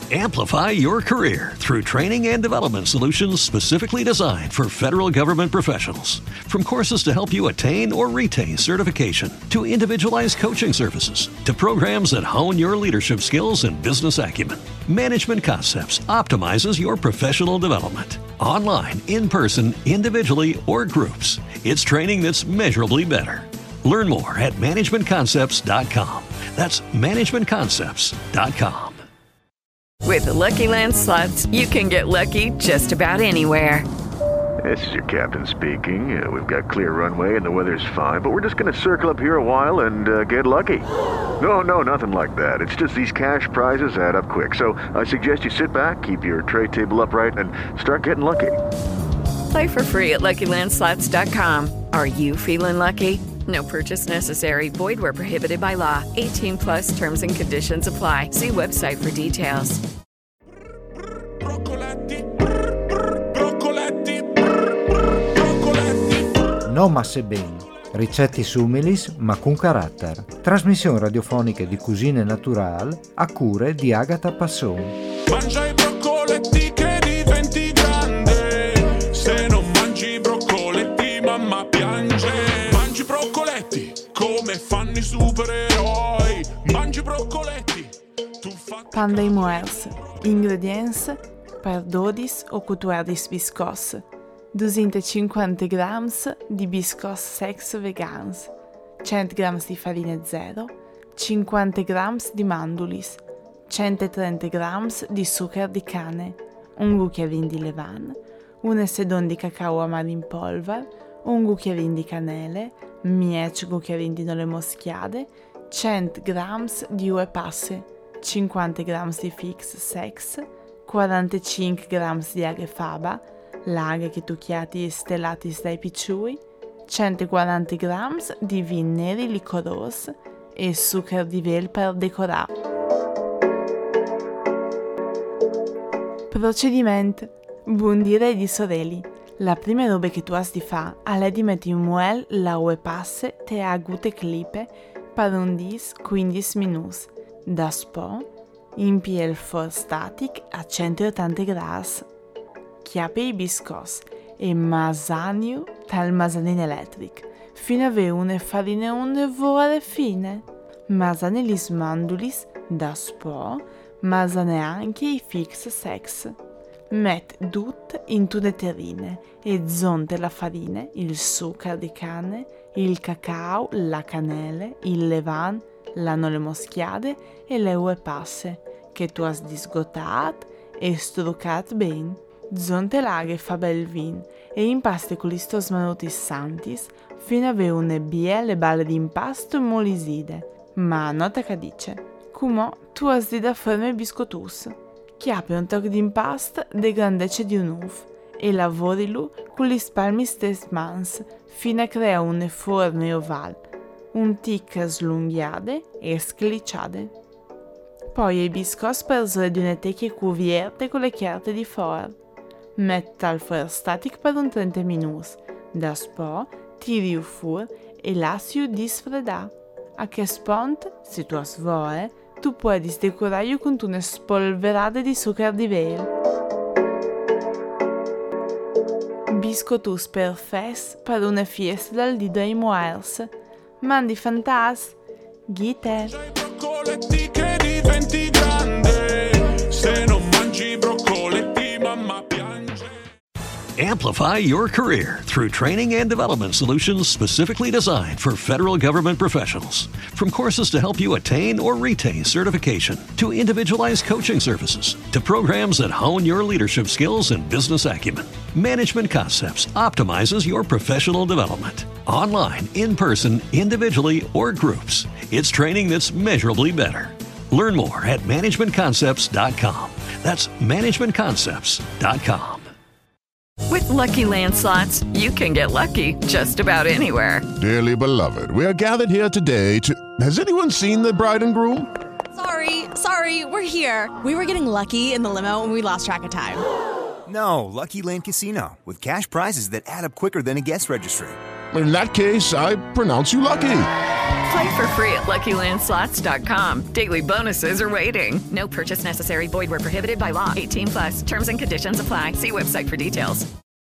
Amplify your career through training and development solutions specifically designed for federal government professionals. From courses to help you attain or retain certification, to individualized coaching services, to programs that hone your leadership skills and business acumen, Management Concepts optimizes your professional development. Online, in person, individually, or groups, it's training that's measurably better. Learn more at managementconcepts.com. That's managementconcepts.com. With the Lucky Land Slots, you can get lucky just about anywhere. This is your captain speaking. We've got clear runway and the weather's fine, but we're just going to circle up here a while and get lucky. No, nothing like that. It's just these cash prizes add up quick. So I suggest you sit back, keep your tray table upright, and start getting lucky. Play for free at LuckyLandSlots.com. Are you feeling lucky? No purchase necessary. Void where prohibited by law. 18 plus terms and conditions apply. See website for details. No masse bene. Ricette sumilis ma con carattere. Trasmissione radiofonica di cucine natural a cure di Agata Passon. Mangia i broccoletti che diventi grande. Se non mangi i broccoletti mamma piange. Mangi broccoletti come fanno i supereroi. Mangi broccoletti. Pan de moels. Ingredients per 12 o 14 biscos. 250 grams di biscos secs vegans, 100 grams di farina zero, 50 grams di mandulis, 130 grams di zucchero di canne, un cucchiaino di levain, un sedon di cacao amaro in polvere, un cucchiaino di canele, 10 cucchiaini di nole moschiate, 100 grams di uve passe, 50 grams di figs secs, 45 grams di aghe faba, l'aghe che tucchiati e stellati dai picciui, 140 grams di vin neri licoros e zucchero di vel per decorare. Procedimento. Bundire di sorelli. La prima roba che tu has di fa è di mettere in muel la ue passe te agute clipe per un 10-15 minuti. Daspo, impie il forno static a 180 gradi. Chiappe i biscos e masaniu tal masanin elettric, fino a avere una farina un'evore fine. Masane lis mandulis da spo, masane anche i fix sex. Met tut in tutte terrine e zonte la farina, il zucchero di canne, il cacao, la cannelle, il levain, la nole moschiate e le ue passe, che tu has disgotat e struccat ben. Zonte l'aghe fa bel vin e impaste con listos manutis santis fino a avere une bielle balle di impasto moliside. Ma nota che dice, come tu has di da forme biscotus. Chiappe un tocco di impasto de grandezza di un uf e lavorilu con gli spalmi stes mans fino a creare une forme oval, un tic slunghiade e scliciade. Poi i biscos per di une tecchie cuvierte con le chiarte di fuori. Metta al forno static per un 30 minuti. Daspo tiri fuori e lasci disfredare. A che spunto, se tu has vuoi, tu puoi decorare con una spolverata di zucchero di vel. Biscotus perfes per una fiesta dal dì dei moels. Mandi fantas. Ghite. Broccoletti che diventi grande. Se non mangi broccoletti mamma piange. Amplify your career through training and development solutions specifically designed for federal government professionals. From courses to help you attain or retain certification, to individualized coaching services, to programs that hone your leadership skills and business acumen, Management Concepts optimizes your professional development. Online, in person, individually, or groups, it's training that's measurably better. Learn more at managementconcepts.com. That's managementconcepts.com. With Lucky Land Slots, you can get lucky just about anywhere. Dearly beloved, we are gathered here today to... Has anyone seen the bride and groom? Sorry, we're here. We were getting lucky in the limo and we lost track of time. No, Lucky Land Casino, with cash prizes that add up quicker than a guest registry. In that case, I pronounce you lucky. Play for free at LuckyLandSlots.com. Daily bonuses are waiting. No purchase necessary. Void where prohibited by law. 18+. Terms and conditions apply. See website for details.